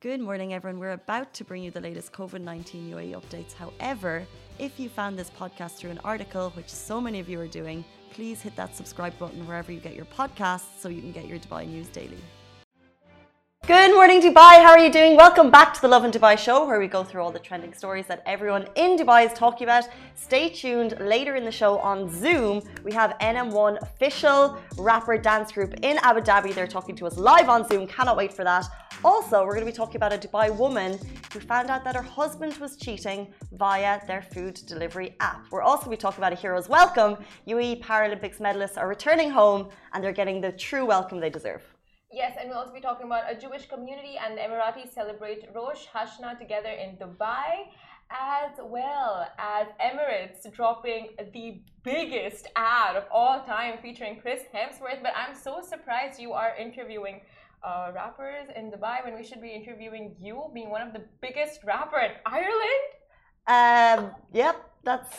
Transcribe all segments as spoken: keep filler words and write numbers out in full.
Good morning, everyone. We're about to bring you the latest COVID nineteen U A E updates. However, if you found this podcast through an article, which so many of you are doing, please hit that subscribe button wherever you get your podcasts so you can get your Dubai news daily. Good morning, Dubai. How are you doing? Welcome back to the Love in Dubai show, where we go through all the trending stories that everyone in Dubai is talking about. Stay tuned. Later in the show on Zoom, we have N M one official rapper dance group in Abu Dhabi. They're talking to us live on Zoom. Cannot wait for that. Also, we're going to be talking about a Dubai woman who found out that her husband was cheating via their food delivery app. We're also going to be talking about a hero's welcome. U A E Paralympics medalists are returning home and they're getting the true welcome they deserve. Yes, and we'll also be talking about a Jewish community and the Emiratis celebrate Rosh Hashanah together in Dubai, as well as Emirates dropping the biggest ad of all time featuring Chris Hemsworth. But I'm so surprised you are interviewing uh, rappers in Dubai when we should be interviewing you, being one of the biggest rapper in Ireland. Um, yep, that's...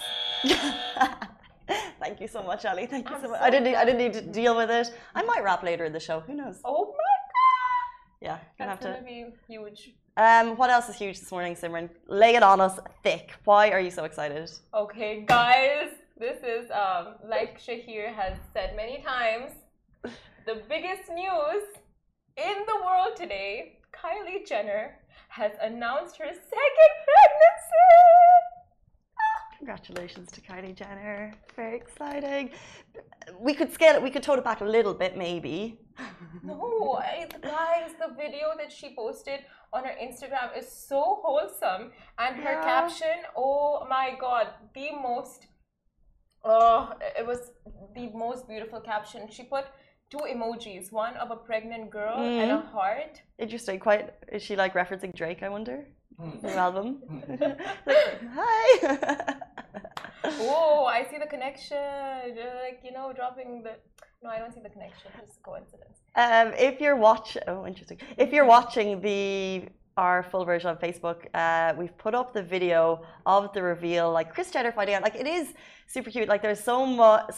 Thank you so much, Ali. Thank you I'm so much. so I didn't. Need, I didn't need to deal with it. I might rap later in the show. Who knows? Oh my god! Yeah, gonna That's have gonna to. be huge. Um, what else is huge this morning, Simran? Lay it on us thick. Why are you so excited? Okay, guys, this is um like Shahir has said many times, the biggest news in the world today. Kylie Jenner has announced her second pregnancy. Congratulations to Kylie Jenner. Very exciting. We could scale it. We could tone it back a little bit, maybe. No, I, guys, the video that she posted on her Instagram is so wholesome, and her Yeah. caption, oh my god, the most, oh, it was the most beautiful caption. She put two emojis, one of a pregnant girl mm. and a heart. Interesting. Quite. Is she like referencing Drake? I wonder. New album. Like, hi. Oh, I see the connection. Like, you know, dropping the. No, I don't see the connection. Just coincidence. Um, if you're watching, oh, interesting. If you're watching the our full version on Facebook, uh, we've put up the video of the reveal. Like Kris Jenner finding out, like it is super cute. Like there's so much,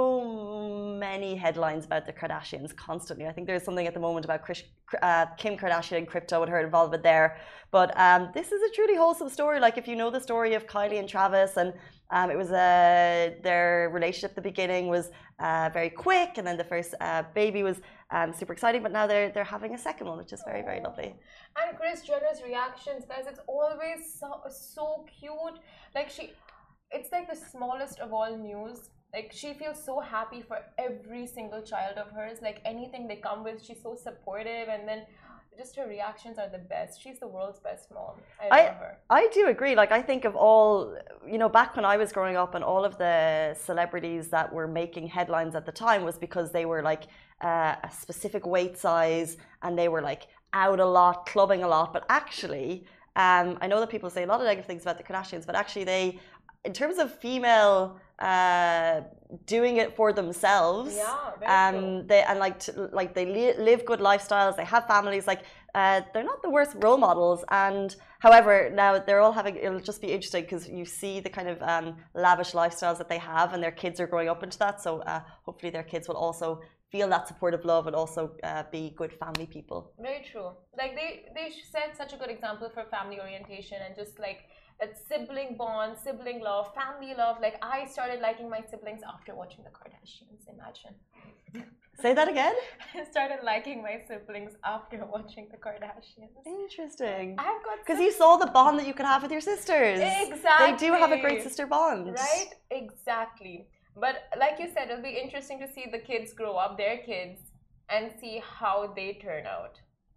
so many headlines about the Kardashians constantly. I think there's something at the moment about Chris, uh, Kim Kardashian and crypto and her involvement there. But um, this is a truly wholesome story. Like if you know the story of Kylie and Travis, and um, it was uh, their relationship at the beginning was uh, very quick, and then the first uh, baby was um, super exciting. But now they're they're having a second one, which is very very lovely. And Kris Jenner's reactions, guys, it's always so, so cute. Like she, it's like the smallest of all news. Like she feels so happy for every single child of hers. Like anything they come with, she's so supportive, and then just her reactions are the best. She's the world's best mom. I love I, her. I do agree. Like I think of all, you know, back when I was growing up, and all of the celebrities that were making headlines at the time was because they were like uh, a specific weight size, and they were like out a lot, clubbing a lot. But actually, um, I know that people say a lot of negative things about the Kardashians, but actually they, in terms of female uh, doing it for themselves, yeah, very um, true. they and like to, like they li live good lifestyles, they have families, like uh, they're not the worst role models. And however, now they're all having, it'll just be interesting because you see the kind of um, lavish lifestyles that they have, and their kids are growing up into that. So uh, hopefully their kids will also feel that supportive love and also uh, be good family people. Very true. Like they, they set such a good example for family orientation and just like that sibling bond, sibling love, family love. Like I started liking my siblings after watching the Kardashians. Imagine. Say that again? I started liking my siblings after watching the Kardashians. Interesting. I've got because you saw the bond that you could have with your sisters. Exactly. They do have a great sister bond. Right? Exactly. But like you said, it'll be interesting to see the kids grow up, their kids, and see how they turn out.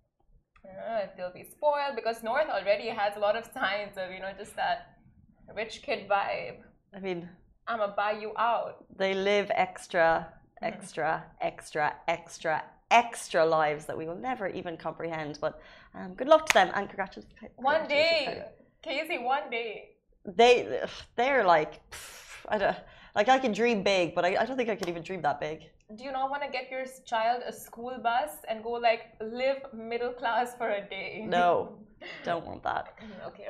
Uh, they'll be spoiled because North already has a lot of signs of, you know, just that rich kid vibe. I mean, I'ma buy you out. They live extra, extra, extra, extra, extra lives that we will never even comprehend. But um, good luck to them, and congratulations. One day, Casey, one day. They, they're like, pff, I don't. Like I can dream big, but I, I don't think I could even dream that big. Do you not want to get your child a school bus and go like live middle class for a day? No, don't want that. Okay.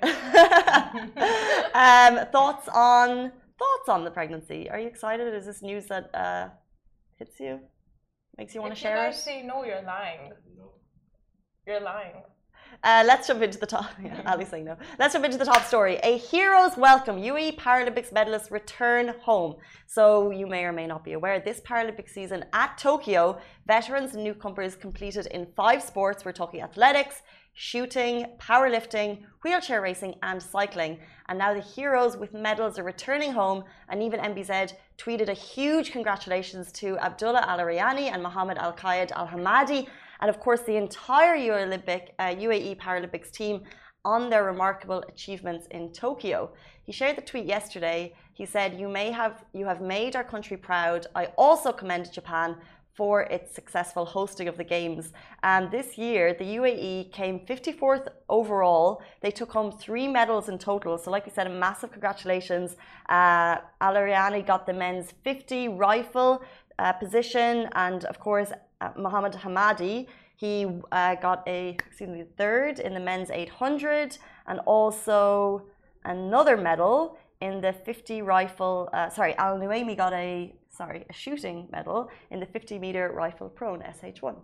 um, thoughts on thoughts on the pregnancy? Are you excited? Is this news that uh, hits you? Makes you want to share it? If you guys say no, you're lying. No. You're lying. Uh, let's jump into the top. Yeah, Ali's saying no. Let's jump into the top story. A hero's welcome. U A E Paralympics medalists return home. So you may or may not be aware, this Paralympic season at Tokyo, veterans and newcomers competed in five sports. We're talking athletics, shooting, powerlifting, wheelchair racing and cycling. And now the heroes with medals are returning home, and even M B Z tweeted a huge congratulations to Abdullah Al Ariani and Mohammed Al Qaid Al Hamadi, and of course the entire U Olympic, uh, U A E Paralympics team on their remarkable achievements in Tokyo. He shared the tweet yesterday. He said, you may have you have made our country proud. I also commend Japan for its successful hosting of the Games. And this year, the U A E came fifty-fourth overall. They took home three medals in total. So like we said, a massive congratulations. Uh, Al Ariani got the men's fifty rifle uh, position. And of course, uh, Mohammed Hamadi, he uh, got a excuse me, third in the men's eight hundred, and also another medal in the fifty rifle, uh, sorry, Al Nuaimi got a sorry, a shooting medal in the fifty meter rifle prone S H one.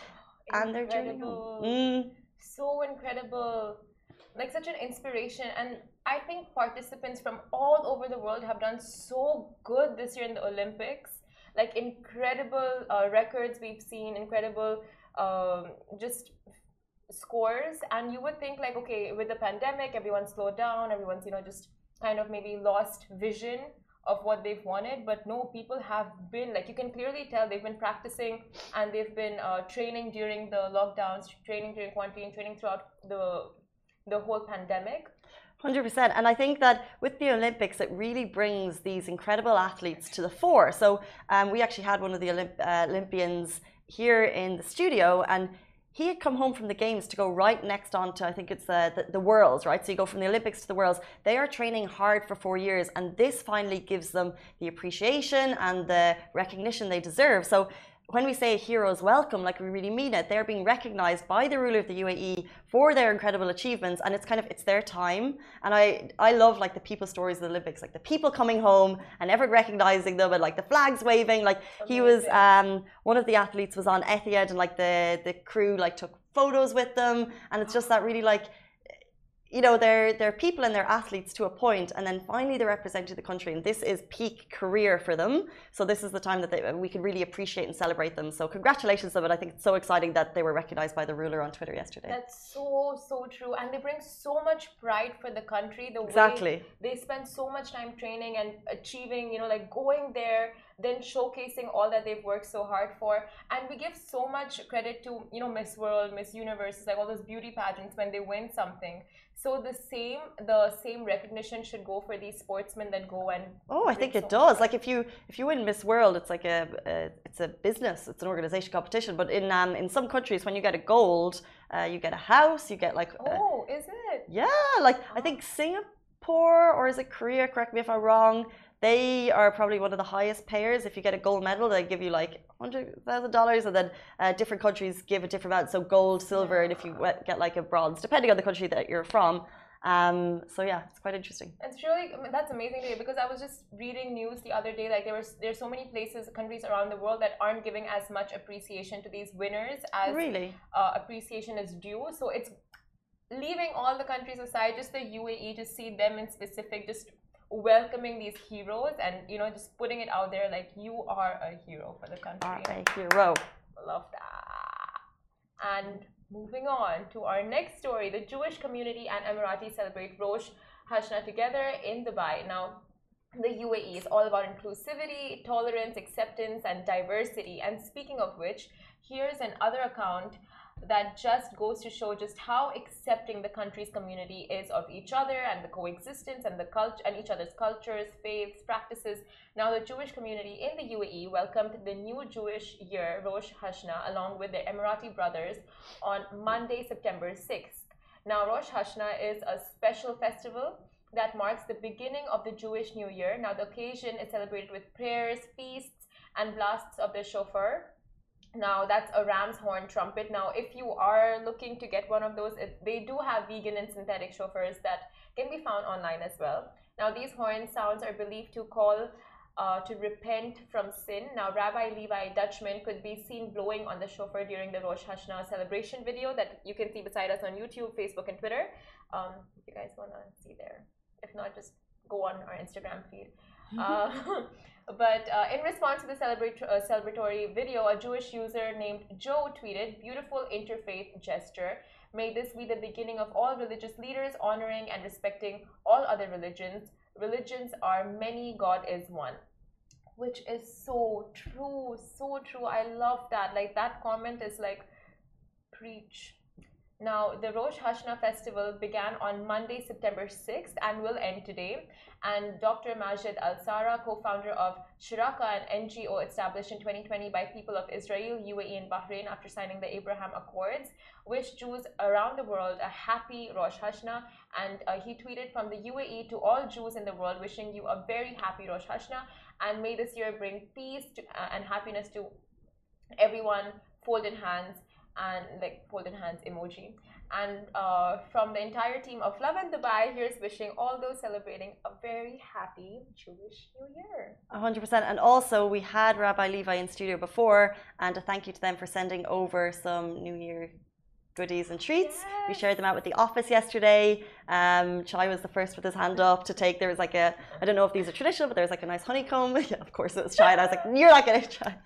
And they're journeying home. Mm. So incredible. Like such an inspiration. And I think participants from all over the world have done so good this year in the Olympics. Like incredible uh, records we've seen, incredible um, just scores. And you would think like, okay, with the pandemic, everyone slowed down, everyone's, you know, just kind of maybe lost vision of what they've wanted, but no, people have been, like you can clearly tell they've been practicing and they've been uh, training during the lockdowns, training during quarantine, training throughout the the whole pandemic. one hundred percent. And I think that with the Olympics, it really brings these incredible athletes to the fore. So um, we actually had one of the Olymp uh, Olympians here in the studio, and he had come home from the Games to go right next on to, I think it's the, the, the Worlds, right? So you go from the Olympics to the Worlds. They are training hard for four years, and this finally gives them the appreciation and the recognition they deserve. So when we say heroes welcome, like we really mean it. They're being recognized by the ruler of the U A E for their incredible achievements, and it's kind of, it's their time. And I, I love like the people stories of the Olympics, like the people coming home and everyone recognizing them and like the flags waving. Like he was, um, one of the athletes was on Etihad, and like the, the crew like took photos with them. And it's just that really like, you know, they're, they're people and they're athletes to a point, and then finally they're representing the country, and this is peak career for them. So this is the time that they, we can really appreciate and celebrate them. So congratulations to them, and I think it's so exciting that they were recognized by the ruler on Twitter yesterday. That's so, so true. And they bring so much pride for the country. The exactly. way they spend so much time training and achieving, you know, like going there, then showcasing all that they've worked so hard for. And we give so much credit to, you know, Miss World, Miss Universe, like all those beauty pageants when they win something. So the same, the same recognition should go for these sportsmen that go and. Oh, I think it does. Like if you if you win Miss World, it's like a, a it's a business, it's an organization competition. But in um in some countries, when you get a gold, uh, you get a house, you get like. Oh, is it? Yeah, like I think Singapore, or is it Korea? Correct me if I'm wrong. They are probably one of the highest payers. If you get a gold medal, they give you like one hundred thousand dollars, and then uh, different countries give a different amount. So gold, silver, and if you get like a bronze, depending on the country that you're from. Um, so yeah, it's quite interesting. It's really, I mean, that's amazing to hear, because I was just reading news the other day, like there was there's so many places, countries around the world that aren't giving as much appreciation to these winners as really uh, appreciation is due. So it's leaving all the countries aside, just the U A E, to see them in specific, just welcoming these heroes and, you know, just putting it out there like you are a hero for the country. Are a hero. Love that. And moving on to our next story, the Jewish community and Emirati celebrate Rosh Hashanah together in Dubai. Now, the U A E is all about inclusivity, tolerance, acceptance, and diversity. And speaking of which, here's another account that just goes to show just how accepting the country's community is of each other and the coexistence and the culture and each other's cultures, faiths, practices. Now, the Jewish community in the U A E welcomed the new Jewish year, Rosh Hashanah, along with their Emirati brothers on Monday, September sixth. Now, Rosh Hashanah is a special festival that marks the beginning of the Jewish New Year. Now, the occasion is celebrated with prayers, feasts, and blasts of the shofar. Now, that's a ram's horn trumpet. Now, if you are looking to get one of those, it, they do have vegan and synthetic shofars that can be found online as well. Now, these horn sounds are believed to call uh, to repent from sin. Now, Rabbi Levi Dutchman could be seen blowing on the shofar during the Rosh Hashanah celebration video that you can see beside us on YouTube, Facebook, and Twitter. Um, if you guys want to see there. If not, just go on our Instagram feed. Uh, but uh, in response to the celebrate, uh, celebratory video, a Jewish user named Joe tweeted, "Beautiful interfaith gesture. May this be the beginning of all religious leaders honoring and respecting all other religions. Religions are many, God is one." Which is so true, so true. I love that. Like, that comment is like, preach. Now, the Rosh Hashanah festival began on Monday, September sixth, and will end today. And Doctor Majid Al-Sara, co-founder of Shiraka, an N G O established in twenty twenty by people of Israel, U A E, and Bahrain after signing the Abraham Accords, wished Jews around the world a happy Rosh Hashanah. And uh, he tweeted, "From the U A E to all Jews in the world, wishing you a very happy Rosh Hashanah, and may this year bring peace to, uh, and happiness to everyone. Folded hands." And like folded hands emoji. And uh, from the entire team of Love in Dubai, here's wishing all those celebrating a very happy Jewish New Year. one hundred percent. And also, we had Rabbi Levi in studio before, and a thank you to them for sending over some New Year goodies and treats. Yes. We shared them out with the office yesterday. Um, Chai was the first with his hand up to take. There was like a, I don't know if these are traditional, but there was like a nice honeycomb. Yeah, of course it was Chai. And I was like, "You're not getting Chai."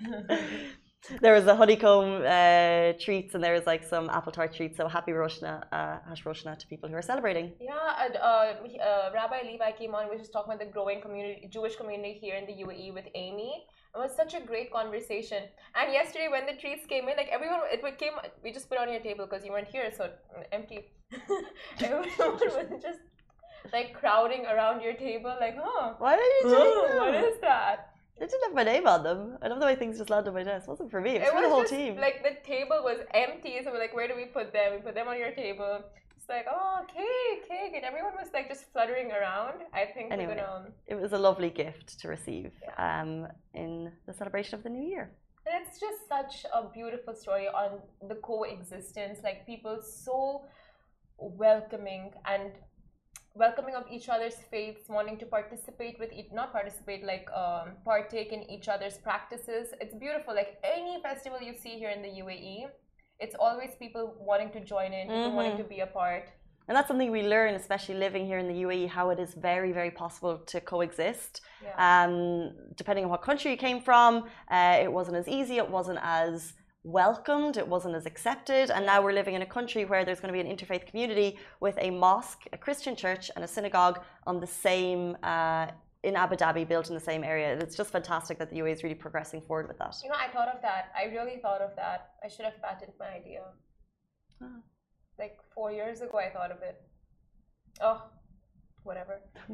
There was a honeycomb uh, treats, and there was like some apple tart treats. So happy Rosh Hashanah, uh, Hash Rosh Hashanah to people who are celebrating. Yeah, and, uh, uh, Rabbi Levi came on. We were just talking about the growing community, Jewish community here in the U A E with Amy. It was such a great conversation. And yesterday, when the treats came in, like everyone, it came. We just put it on your table because you weren't here, so empty. Everyone was just like crowding around your table, like, "Huh? Why are you doing oh, that? What is that?" They didn't have my name on them. I love the way things just landed on my desk. It wasn't for me. It was it for was the whole just, team. Like the table was empty, so we're like, "Where do we put them?" We put them on your table. It's like, "Oh, cake, cake," and everyone was like just fluttering around. I think Anyway, we're gonna. It was a lovely gift to receive Yeah. um, in the celebration of the new year. And it's just such a beautiful story on the coexistence. Like people so welcoming and welcoming of each other's faiths, wanting to participate with each, not participate, like um, partake in each other's practices. It's beautiful. Like any festival you see here in the U A E, it's always people wanting to join in, people Mm-hmm. wanting to be a part. And that's something we learn, especially living here in the U A E, how it is very, very possible to coexist. Yeah. Um, depending on what country you came from, uh, it wasn't as easy, it wasn't as welcomed, it wasn't as accepted. And now we're living in a country where there's going to be an interfaith community with a mosque, a Christian church, and a synagogue on the same, uh, in Abu Dhabi, built in the same area. It's just fantastic that the U A E is really progressing forward with that. You know, I thought of that. I really thought of that. I should have patented my idea. Oh. Like four years ago, I thought of it. Oh, whatever.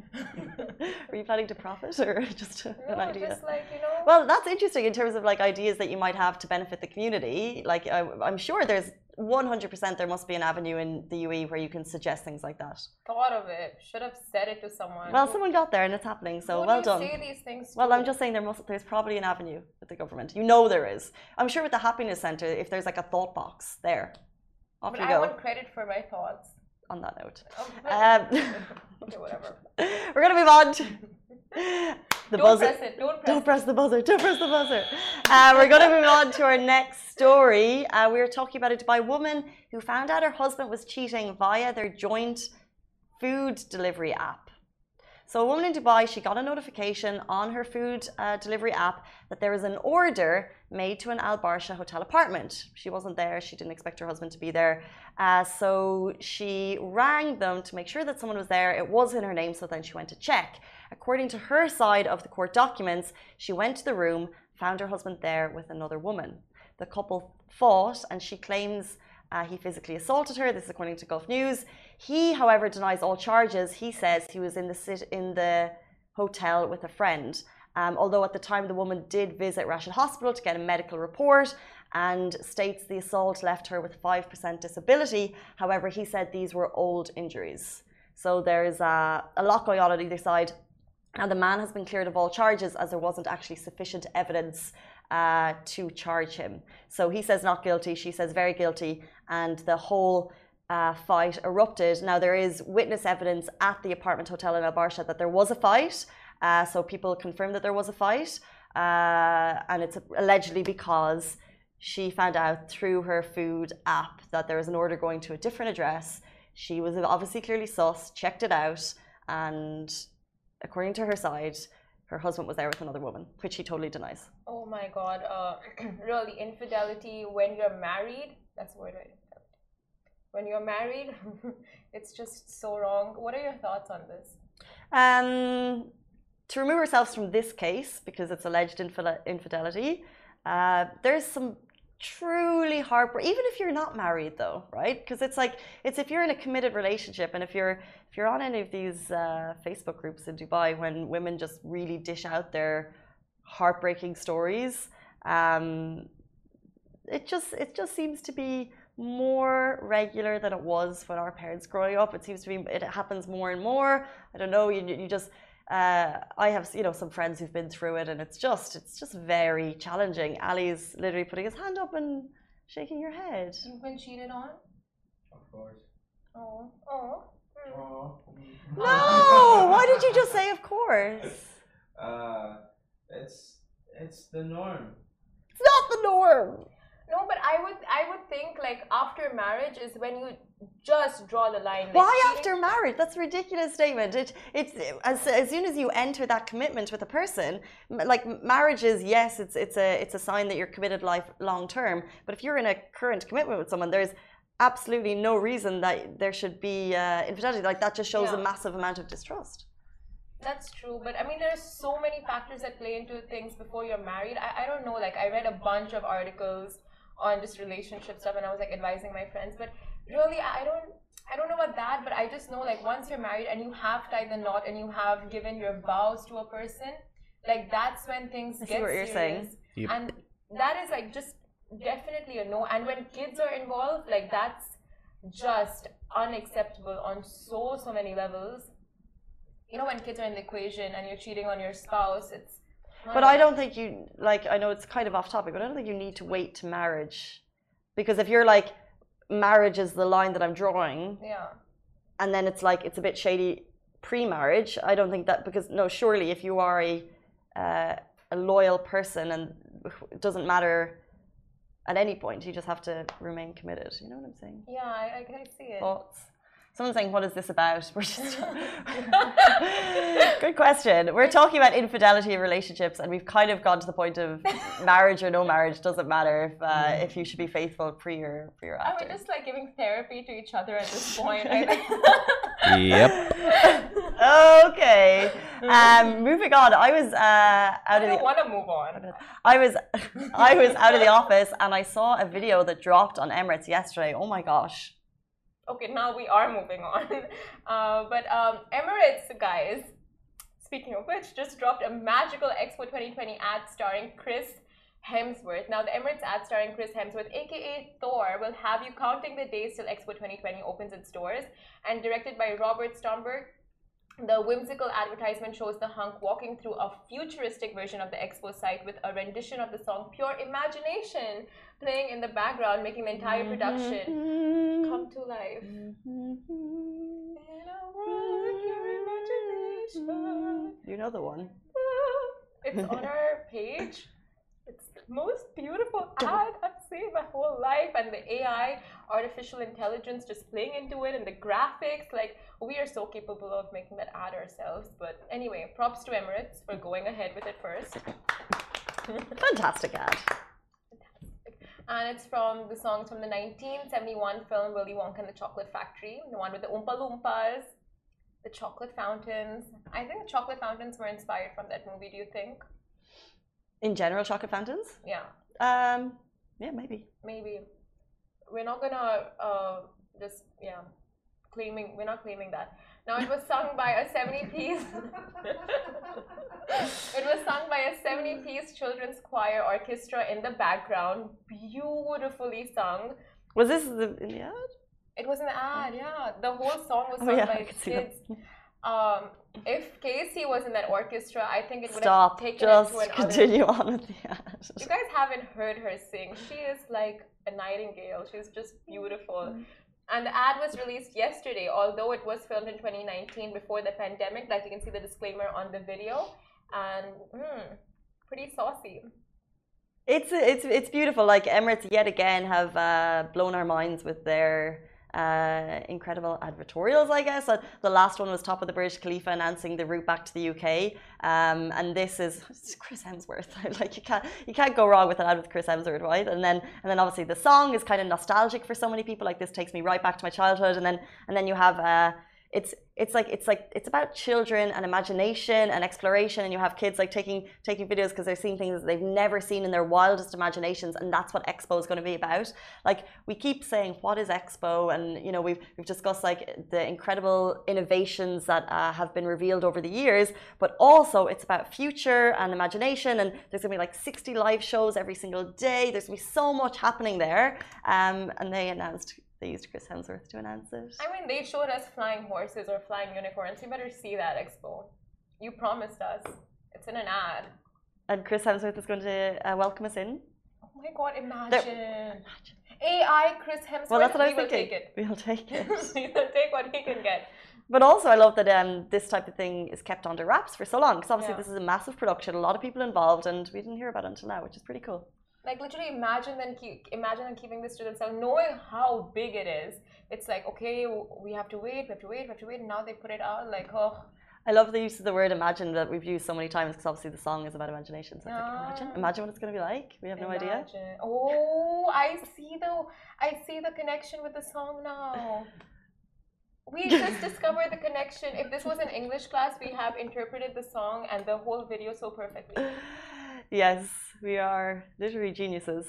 Were you planning to profit or just an No, idea? just like, you know. Well, that's interesting in terms of like ideas that you might have to benefit the community. Like I, I'm sure there's one hundred percent there must be an avenue in the U A E where you can suggest things like that. Thought of it. Should have said it to someone. Well, someone got there and it's happening, so Who well do you done. say these things Well, to? I'm just saying there must there's probably an avenue with the government. You know there is. I'm sure with the happiness center, if there's like a thought box there, off But you I go. want credit for my thoughts. On that note, Oh, um, okay, whatever. we're gonna move on to the Don't buzzer. press it. Don't press Don't press the buzzer. Don't press the buzzer. Uh, we're going to move on to our next story. Uh, we were talking about a Dubai woman who found out her husband was cheating via their joint food delivery app. So a woman in Dubai, she got a notification on her food uh, delivery app that there was an order made to an Al Barsha hotel apartment. She wasn't there. She didn't expect her husband to be there. Uh, so she rang them to make sure that someone was there. It was in her name, so then she went to check. According to her side of the court documents, she went to the room, found her husband there with another woman. The couple fought, and she claims uh, he physically assaulted her. This is according to Gulf News. He, however, denies all charges. He says he was in the sit- in the hotel with a friend. Um, although at the time the woman did visit Rashid Hospital to get a medical report and states the assault left her with five percent disability. However, he said these were old injuries. So there's uh, a lot going on on either side. And the man has been cleared of all charges as there wasn't actually sufficient evidence uh, to charge him. So he says not guilty, she says very guilty, and the whole uh, fight erupted. Now there is witness evidence at the apartment hotel in Al Barsha that there was a fight. Uh, so people confirmed that there was a fight, uh, and it's allegedly because she found out through her food app that there was an order going to a different address. She was obviously clearly sus, checked it out, and according to her side, her husband was there with another woman, which he totally denies. Oh my God. Uh, really, infidelity when you're married, that's the word, right? When you're married, it's just so wrong. What are your thoughts on this? Um, to remove ourselves from this case, because it's alleged infidelity, uh, there's some truly heartbreak, even if you're not married though, right? Because it's like, it's if you're in a committed relationship, and if you're if you're on any of these uh, Facebook groups in Dubai when women just really dish out their heartbreaking stories, um, it just it just seems to be more regular than it was when our parents growing up. It seems to be, it happens more and more. I don't know, you, you just uh, I have, you know, some friends who've been through it, and it's just it's just very challenging. Ali's literally putting his hand up and shaking your head. You've been cheated on? Of course. Oh, oh. Mm. Oh. No, why did you just say of course? Uh, it's it's the norm. It's not the norm. No, but I would I would think like after marriage is when you just draw the line. Like, Why cheating? after marriage? That's a ridiculous statement. It it's as as soon as you enter that commitment with a person, like marriage is, yes, it's it's a it's a sign that you're committed life long term. But if you're in a current commitment with someone, there's absolutely no reason that there should be uh, infidelity. Like that just shows Yeah. a massive amount of distrust. That's true, but I mean, there's so many factors that play into things before you're married. I, I don't know, like I read a bunch of articles on just relationship stuff, and I was like advising my friends, but really I don't I don't know about that, but I just know like once you're married and you have tied the knot and you have given your vows to a person, like that's when things I see get what you're serious. saying. Yep. And that is like just definitely a no. And when kids are involved, like that's just unacceptable on so so many levels. You know, when kids are in the equation and you're cheating on your spouse, it's But I don't think you, like, I know it's kind of off topic, but I don't think you need to wait to marriage. Because if you're like, marriage is the line that I'm drawing, yeah. and then it's like, it's a bit shady pre-marriage, I don't think that, because no, surely if you are a, uh, a loyal person, and it doesn't matter at any point, you just have to remain committed. You know what I'm saying? Yeah, I, I, I see it. Thoughts? Someone's saying, what is this about? We're just good question. We're talking about infidelity in relationships, and we've kind of gone to the point of marriage or no marriage doesn't matter if uh, if you should be faithful pre or pre or Are after. we just like giving therapy to each other at this point? I think. Yep. Okay. Um, moving on. I was uh, I out of don't the. want to move on. I was, I was out of the office, and I saw a video that dropped on Emirates yesterday. Oh my gosh. Okay, now we are moving on. Uh, but um, Emirates, guys, speaking of which, just dropped a magical Expo twenty twenty ad starring Chris Hemsworth. Now, the Emirates ad starring Chris Hemsworth, aka Thor, will have you counting the days till Expo twenty twenty opens its doors. And directed by Robert Stromberg, the whimsical advertisement shows the hunk walking through a futuristic version of the Expo site with a rendition of the song Pure Imagination playing in the background, making the entire production come to life. In a world of pure imagination. You know the one. It's on our page. It's the most beautiful ad I've seen my whole life, and the A I, artificial intelligence, just playing into it, and the graphics. Like, we are so capable of making that ad ourselves. But anyway, props to Emirates for going ahead with it first. Fantastic ad. And it's from the songs from the nineteen seventy-one film Willy Wonka and the Chocolate Factory, the one with the Oompa Loompas, the chocolate fountains. I think the chocolate fountains were inspired from that movie, do you think? In general, chocolate fountains? Yeah. Um, yeah, maybe. Maybe. We're not gonna uh, just, yeah, claiming, we're not claiming that. Now, it was sung by a seventy-piece, it was sung by a seventy-piece children's choir orchestra in the background, beautifully sung. Was this the, in the ad? It was an ad, yeah. The whole song was Oh, sung yeah, I by could see kids. Um, if Casey was in that orchestra, I think it would Stop. have taken Just it to another. continue on with the ad. You guys haven't heard her sing. She is like a nightingale. She's just beautiful. And the ad was released yesterday, although it was filmed in twenty nineteen before the pandemic. Like you can see the disclaimer on the video, and mm, pretty saucy. It's it's it's beautiful. Like Emirates yet again have uh, blown our minds with their uh, incredible advertorials. I guess uh, the last one was top of the Burj Khalifa announcing the route back to the U K, um, and this is Chris Hemsworth. Like you can't you can't go wrong with an ad with Chris Hemsworth, right? And then and then obviously the song is kind of nostalgic for so many people. Like this takes me right back to my childhood, and then and then you have. Uh, It's it's like it's like it's about children and imagination and exploration, and you have kids like taking taking videos because they're seeing things that they've never seen in their wildest imaginations, and that's what Expo is going to be about. Like we keep saying, what is Expo? And you know we've we've discussed like the incredible innovations that uh, have been revealed over the years, but also it's about future and imagination. And there's going to be like sixty live shows every single day. There's going to be so much happening there, um, and they announced. They used Chris Hemsworth to announce it. I mean, they showed us flying horses or flying unicorns. You better see that, Expo. You promised us. It's in an ad. And Chris Hemsworth is going to uh, welcome us in. Oh my God, imagine. imagine. A I Chris Hemsworth. Well, that's what I was we thinking. Will take it. We'll take it. We will take what he can get. But also, I love that um, this type of thing is kept under wraps for so long. Because obviously, Yeah. this is a massive production, a lot of people involved, and we didn't hear about it until now, which is pretty cool. Like literally, imagine them keep, imagine them keeping this to themselves, knowing how big it is. It's like, okay, we have to wait, we have to wait, we have to wait, and now they put it out. Like, oh. I love the use of the word imagine that we've used so many times because obviously the song is about imagination. So it's like, imagine, imagine what it's going to be like. We have no imagine. idea. Oh, I see the, I see the connection with the song now. We just discovered the connection. If this was an English class, we have interpreted the song and the whole video so perfectly. Yes, we are literary geniuses.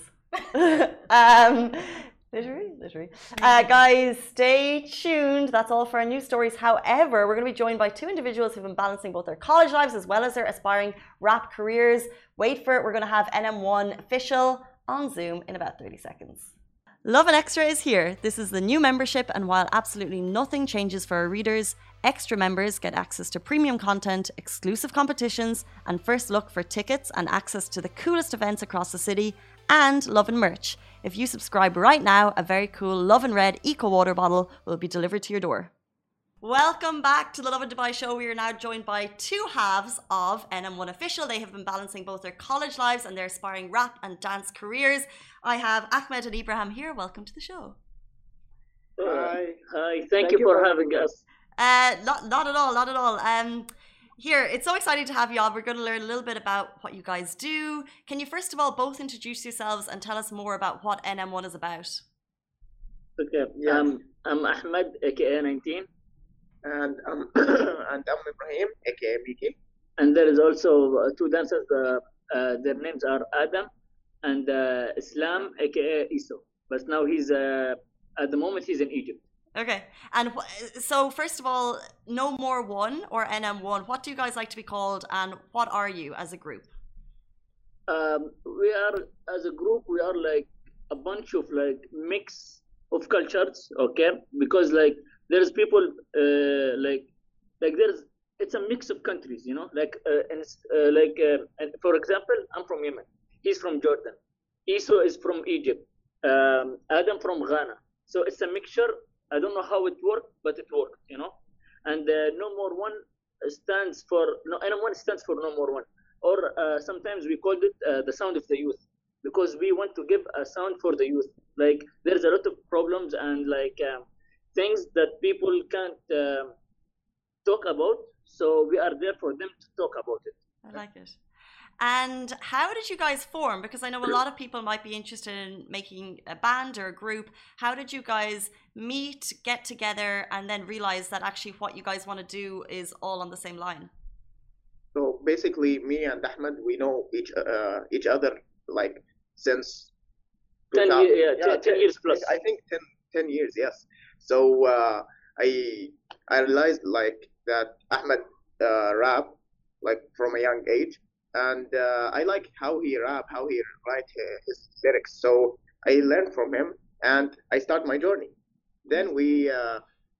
um, literary, literary. Uh, guys, stay tuned. That's all for our news stories. However, we're going to be joined by two individuals who've been balancing both their college lives as well as their aspiring rap careers. Wait for it. We're going to have N M one official on Zoom in about thirty seconds. Lovin Extra is here. This is the new membership, and while absolutely nothing changes for our readers, extra members get access to premium content, exclusive competitions, and first look for tickets and access to the coolest events across the city, and Lovin merch. If you subscribe right now, a very cool Lovin Red Eco Water bottle will be delivered to your door. Welcome back to the Lovin Dubai show. We are now joined by two halves of N M one Official. They have been balancing both their college lives and their aspiring rap and dance careers. I have Ahmed and Ibrahim here. Welcome to the show. Hi. Hi. Thank, Thank you, you for having us. Uh, not, not at all. Not at all. Um, here, it's so exciting to have you all. We're going to learn a little bit about what you guys do. Can you first of all both introduce yourselves and tell us more about what N M one is about? Okay. Yeah. Um, I'm Ahmed, aka nineteen. And um, and I'm Ibrahim, aka B K. And there is also uh, two dancers. Uh, uh, their names are Adam and uh, Islam, aka Iso. But now he's uh, at the moment he's in Egypt. Okay. And wh- so first of all, No More One or N M one, what do you guys like to be called, and what are you as a group? Um, we are as a group. We are like a bunch of like mix of cultures. Okay, because like. There's people uh, like like there's it's a mix of countries, you know, like uh, and it's, uh, like uh, for example, I'm from Yemen, he's from Jordan, Iso is from Egypt, um, Adam from Ghana. So it's a mixture. I don't know how it worked, but it worked, you know. And uh, No More One stands for no N M one stands for No More One, or uh, sometimes we called it uh, the sound of the youth, because we want to give a sound for the youth. Like there's a lot of problems and like. Um, things that people can't uh, talk about, so we are there for them to talk about it. I like it. And how did you guys form? Because I know a lot of people might be interested in making a band or a group. How did you guys meet, get together, and then realize that actually what you guys want to do is all on the same line? So basically, me and Ahmed, we know each uh, each other like since ten, year, yeah, yeah, ten, ten years plus. I think ten, ten years, yes. So uh, I I realized like that Ahmed uh, rap like from a young age, and uh, I like how he rap, how he write his lyrics. So I learned from him, and I start my journey. Then we uh,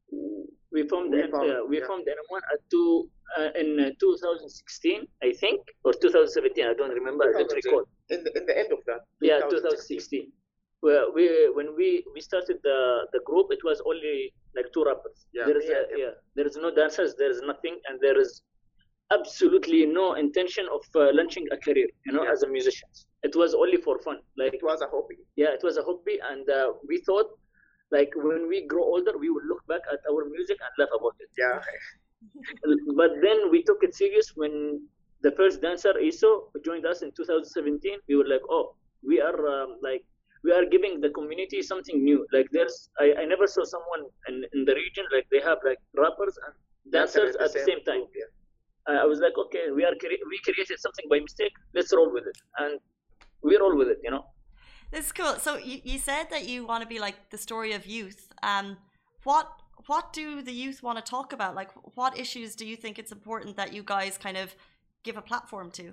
we formed we formed, uh, we yeah. formed N M one at two uh, in uh, two thousand sixteen, I think, or two thousand seventeen. I don't remember. I don't recall. In the, in the end of that. Yeah, two thousand sixteen. we, we when we we started the the group, it was only like two rappers. Yeah, there is me a, and him. yeah, there is no dancers, there is nothing, and there is absolutely no intention of uh, launching a career, you know, Yeah. as a musician. It was only for fun. Like, It was a hobby. yeah, it was a hobby, and uh, we thought, like, when we grow older, we will look back at our music and laugh about it. Yeah. But then we took it serious when the first dancer Iso joined us in two thousand seventeen. We were like, oh, we are um, like we are giving the community something new. Like, there's I, I never saw someone in, in the region like they have like rappers and dancers at the same time. group, yeah. I I was like, okay, we are cre- we created something by mistake. Let's roll with it, and we roll with it. You know. This is cool. So you, you said that you want to be like the story of youth. Um, what what do the youth want to talk about? Like, what issues do you think it's important that you guys kind of give a platform to?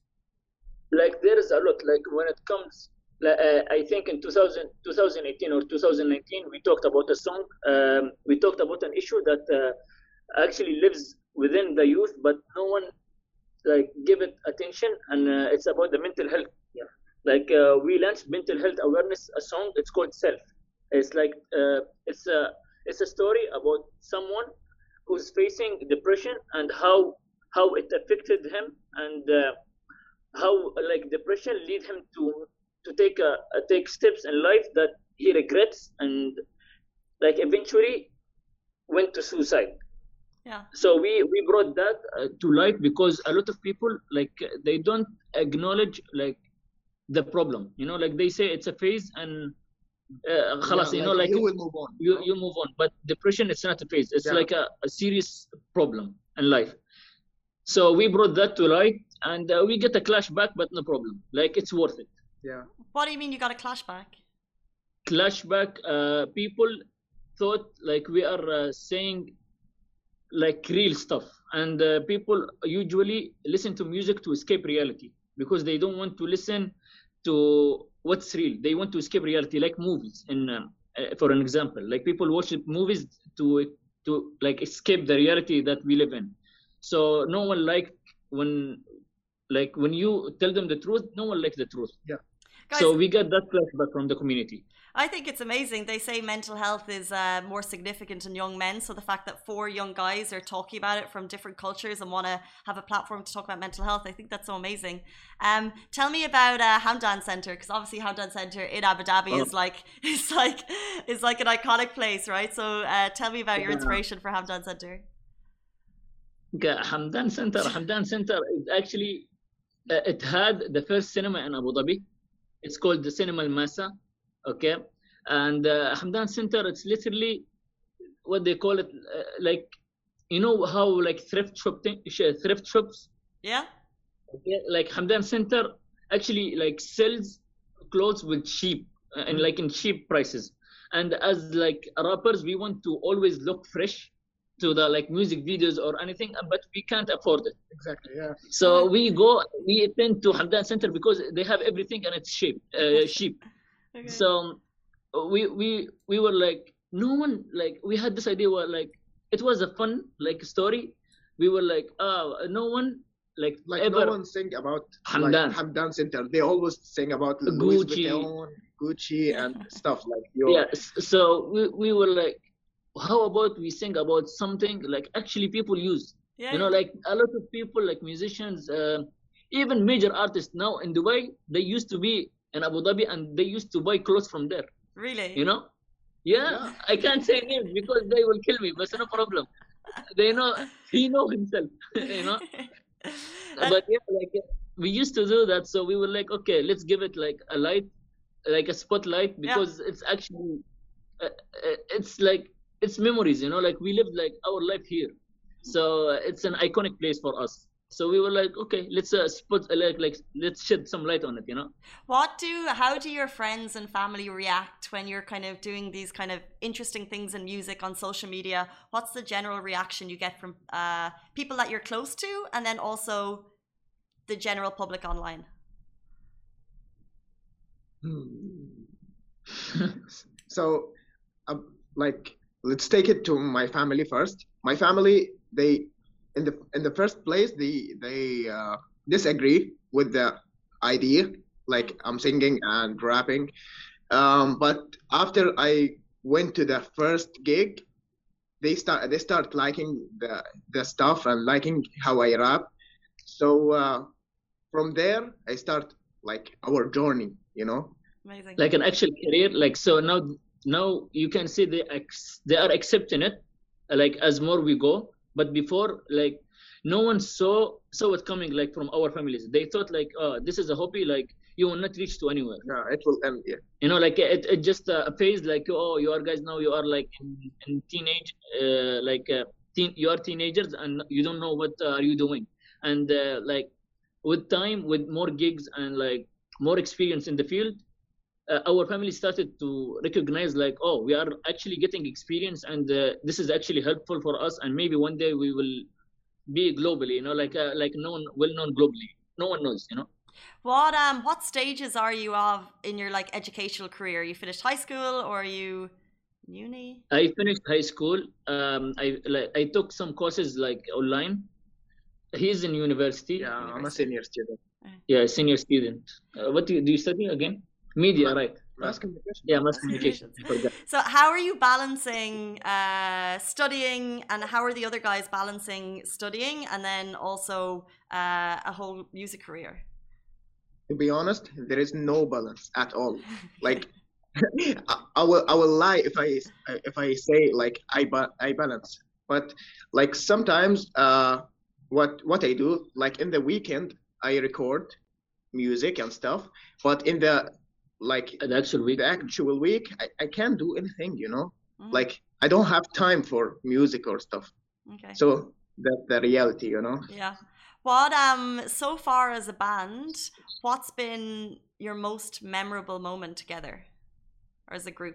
Like, there is a lot. Like, when it comes, like, uh, I think in two thousand, twenty eighteen or two thousand nineteen, we talked about a song. Um, we talked about an issue that uh, actually lives within the youth, but no one like give it attention, and uh, it's about the mental health. Yeah. Like, uh, we launched mental health awareness, a song. It's called Self. It's like uh, it's a it's a story about someone who's facing depression and how how it affected him, and uh, how like depression lead him to to take a, a take steps in life that he regrets, and like eventually went to suicide. Yeah. So we we brought that uh, to light because a lot of people like they don't acknowledge like the problem, you know, like they say it's a phase and uh, خلاص, Yeah, you know, like you will move on. you you move on. But depression, it's not a phase, it's Yeah. like a, a serious problem in life. So we brought that to light, and uh, we get a clash back, but no problem, like it's worth it. Yeah. What do you mean you got a clash back? Clash back, uh, people thought like we are uh, saying like real stuff, and uh, people usually listen to music to escape reality because they don't want to listen to what's real. They want to escape reality, like movies. In um, uh, for an example, like people watch movies to to like escape the reality that we live in. So no one like when like when you tell them the truth, no one likes the truth. Yeah. Guys, So we get that flashback from the community. I think it's amazing. They say mental health is uh, more significant in young men. So the fact that four young guys are talking about it from different cultures and want to have a platform to talk about mental health, I think that's so amazing. Um, tell me about uh, Hamdan Center, because obviously Hamdan Center in Abu Dhabi Oh. is like it's like is like an iconic place, right? So uh, tell me about your Yeah. inspiration for Hamdan Center. Okay, Hamdan Center. Hamdan Center is actually uh, it had the first cinema in Abu Dhabi. It's called the Cinema Al Masa. Okay, and uh, Hamdan Center, it's literally what they call it, uh, like you know how like thrift shop thing, thrift shops. Yeah. Okay, like Hamdan Center actually like sells clothes with cheap uh, and like in cheap prices. And as like rappers, we want to always look fresh to the like music videos or anything, but we can't afford it. Exactly. Yeah. So we go, we attend to Hamdan Center because they have everything and it's cheap, uh, cheap. Okay. So we we we were like, no one like we had this idea where like it was a fun like story. We were like, oh, no one like, Like ever. no one sing about Hamdan. like Hamdan Center. They always sing about Louis Gucci. Vuitton, Gucci, and stuff like your. Yeah. s- So we we were like, how about we sing about something like actually people use. Yeah. You know, like a lot of people, like musicians, uh, even major artists now in Dubai, they used to be in Abu Dhabi and they used to buy clothes from there. Really? You know? Yeah, Yeah. I can't say names because they will kill me, but no problem. They know, he know himself, you know? But yeah, like we used to do that. So we were like, okay, let's give it like a light, like a spotlight, because it's actually, uh, uh, it's like, it's memories, you know, like we lived like our life here. So uh, it's an iconic place for us. So we were like, okay, let's uh, spot, uh, like, like, let's shed some light on it, you know? What do, how do your friends and family react when you're kind of doing these kind of interesting things in music on social media? What's the general reaction you get from uh, people that you're close to, and then also the general public online? So, um, like, let's take it to my family first. My family, they, in the in the first place, they they uh, disagree with the idea. Like I'm singing and rapping, Um, but after I went to the first gig, they start they start liking the the stuff and liking how I rap. So uh, from there, I start like our journey, you know. Amazing. Like an actual career. Like so now, now you can see they ex- they are accepting it, uh, like as more we go. But before, like no one saw saw it coming. Like from our families, they thought like, oh, this is a hobby. Like you will not reach to anywhere. Yeah, it will end. Yeah. You know, like it, it just uh, a phase. Like oh, you are guys now. You are like in, in teenage, uh, like uh, teen. You are teenagers and you don't know what uh, are you doing. And uh, like with time, with more gigs and like more experience in the field. Uh, our family started to recognize like, oh, we are actually getting experience and uh, this is actually helpful for us, and maybe one day we will be globally, you know, like uh, like known, well known globally. No one knows, you know. What um what stages are you of in your like educational career? You finished high school or are you uni? I finished high school. Um, I like I took some courses like online. He's in university. Yeah, I'm a University. senior student. Yeah, senior student. Uh, what do you, do you study again? Media, right? Mass communication. Yeah, mass communication. I forgot. So how are you balancing uh, studying, and how are the other guys balancing studying and then also uh, a whole music career? To be honest, there is no balance at all. Like, I, I will I will lie if I if I say like I ba- I balance. But like sometimes, uh, what what I do, like in the weekend, I record music and stuff. But in the like The actual week. the actual week, I, I can't do anything. You know, Mm, like I don't have time for music or stuff. okay. So that's the reality. You know. Yeah. What um so far as a band, what's been your most memorable moment together or as a group?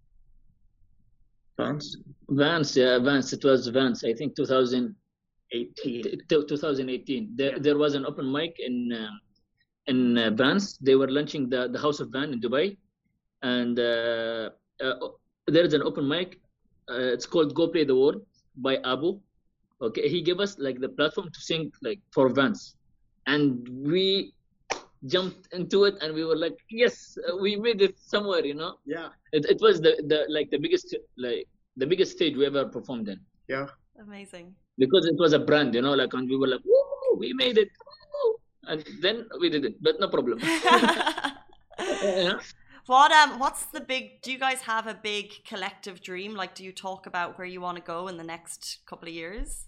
Thanks. Vance, yeah, Vance. It was Vance. I think two thousand eighteen. t- twenty eighteen. There, Yeah. there was an open mic in um, in uh, Vance. They were launching the, the House of Van in Dubai, and uh, uh, there is an open mic. Uh, it's called Go Play the World by Abu. Okay, he gave us like the platform to sing like for Vance, and we jumped into it, and we were like, yes, uh, we made it somewhere. You know, Yeah. it, it was the, the like the biggest like the biggest stage we ever performed in. Yeah. Amazing. Because it was a brand, you know, like, and we were like, woo, we made it, woo. And then we did it, but no problem. Yeah. What um what's the big, do you guys have a big collective dream? Like, do you talk about where you want to go in the next couple of years?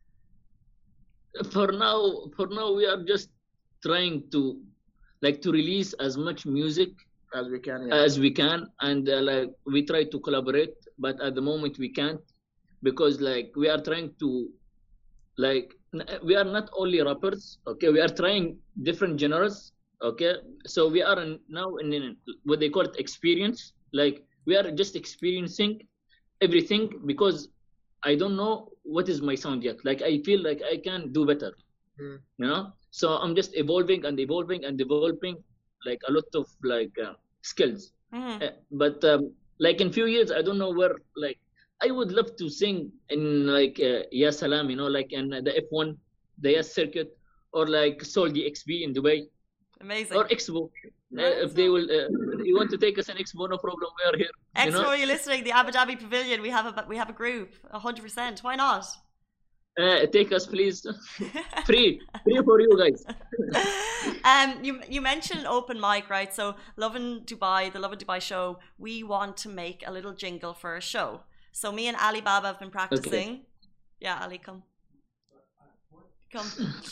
For now, for now, we are just trying to, like, to release as much music As we can. Yeah. as we can, and uh, like we try to collaborate, but at the moment we can't, because like we are trying to, like, n- we are not only rappers, okay, we are trying different genres, okay, so we are in, now in, in what they call it experience, like we are just experiencing everything, because I don't know what is my sound yet, like I feel like I can do better. Mm. You know, so I'm just evolving and evolving and developing like a lot of like uh, skills. Mhm. Uh, but um, like in few years, I don't know where, like I would love to sing in like uh, Ya Salam, you know, like in the F one, the Yes circuit, or like Soul D X B in Dubai, Amazing. or Expo. Uh, if they will, uh, you want to take us an Expo, no problem, we are here. You Expo, know? are you listening? The Abu Dhabi Pavilion, we have a we have a group, a hundred percent. Why not? Uh, take us, please. Free, free for you guys. um, you you mentioned open mic, right? So Lovin Dubai, the Lovin Dubai show, we want to make a little jingle for a show. So me and Ali Baba have been practicing. Yeah, Ali, come. Come.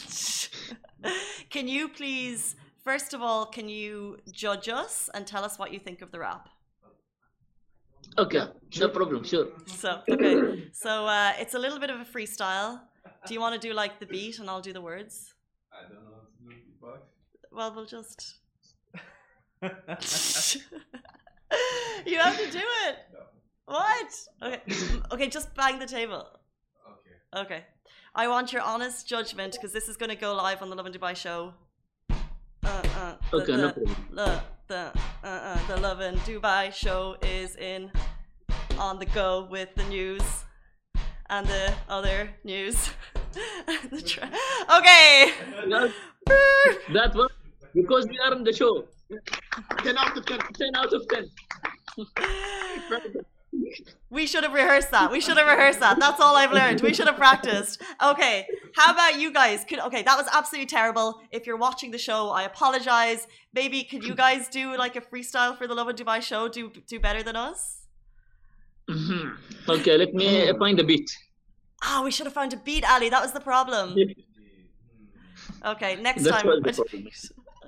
Can you please, first of all, can you judge us and tell us what you think of the rap? Okay, Yeah, no problem, sure. So, okay. So uh, it's a little bit of a freestyle. Do you want to do like the beat and I'll do the words? I don't know how to do beatbox. Well, we'll just. You have to do it. No. What? Okay. Okay, just bang the table. Okay. Okay. I want your honest judgment because this is going to go live on the Lovin Dubai show. Uh, uh, the, Okay, the, no problem. The, the, uh, uh, the Lovin Dubai show is in on the go with the news and the other news. The tra- okay. That, that one, because we are on the show. ten out of ten. ten out of ten. We should have rehearsed that. We should have rehearsed that. That's all I've learned. We should have practiced. Okay. How about you guys? Could, okay, that was absolutely terrible. If you're watching the show, I apologize. Maybe could you guys do like a freestyle for the Love and Dubai show? Do do better than us? Mhm. Okay, let me find a beat. Ah, oh, we should have found a beat, Ali. That was the problem. Okay, next That's time. what the problem is.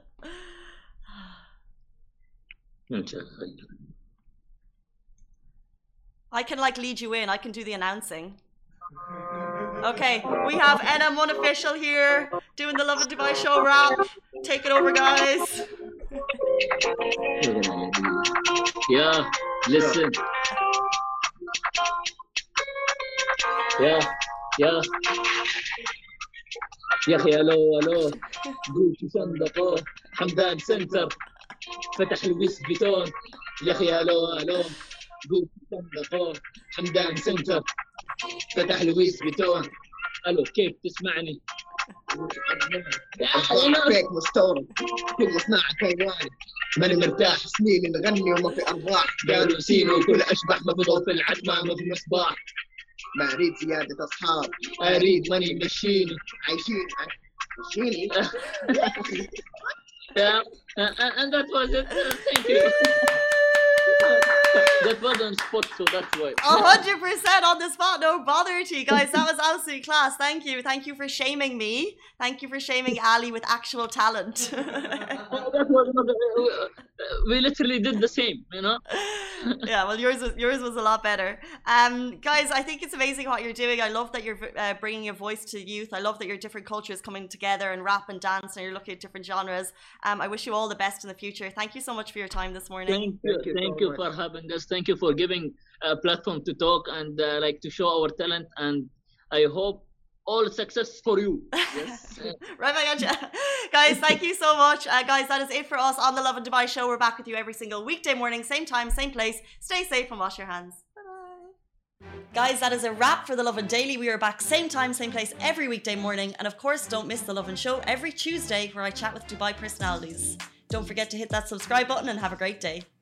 I can like lead you in. I can do the announcing. Okay, we have N M one official here doing the Love and Dubai show rap. Take it over, guys. Yeah, listen. Yeah, yeah. يا اخي الو الو قوتي صندقه حمدان سنتر فتح الويس بيتون يا اخي الو الو قوتي صندقه حمدان سنتر فتح الويس بيتون الو كيف تسمعني؟ فيك مستورد كل صناعة كيوان ماني مرتاح سنين نغني وما في ارباح قالوا سينو كل اشبح ما في ضوء في العتمة ما في مصباح ما اريد زيادة اصحاب اريد ماني مشيني عايشين مشيني. Yeah, uh, and that was it. Uh, thank you. That was on spot, so that's why. A hundred percent on the spot. No bother to you guys. That was absolute class. Thank you. Thank you for shaming me. Thank you for shaming Ali with actual talent. That was not, uh, we literally did the same, you know. Yeah, well, yours was yours was a lot better. Um, guys, I think it's amazing what you're doing. I love that you're uh, bringing a voice to youth. I love that your different cultures coming together and rap and dance, and you're looking at different genres. Um, I wish you all the best in the future. Thank you so much for your time this morning. Thank you, Thank you thank so you much. for having us. Thank you for giving a platform to talk and uh, like to show our talent. And I hope all success for you. Yes. Right back at you. Guys, thank you so much. Uh, guys, that is it for us on the Love and Dubai show. We're back with you every single weekday morning, same time, same place. Stay safe and wash your hands. Bye-bye. Guys, that is a wrap for the Love and Daily. We are back same time, same place every weekday morning. And of course, don't miss the Love and Show every Tuesday where I chat with Dubai personalities. Don't forget to hit that subscribe button and have a great day.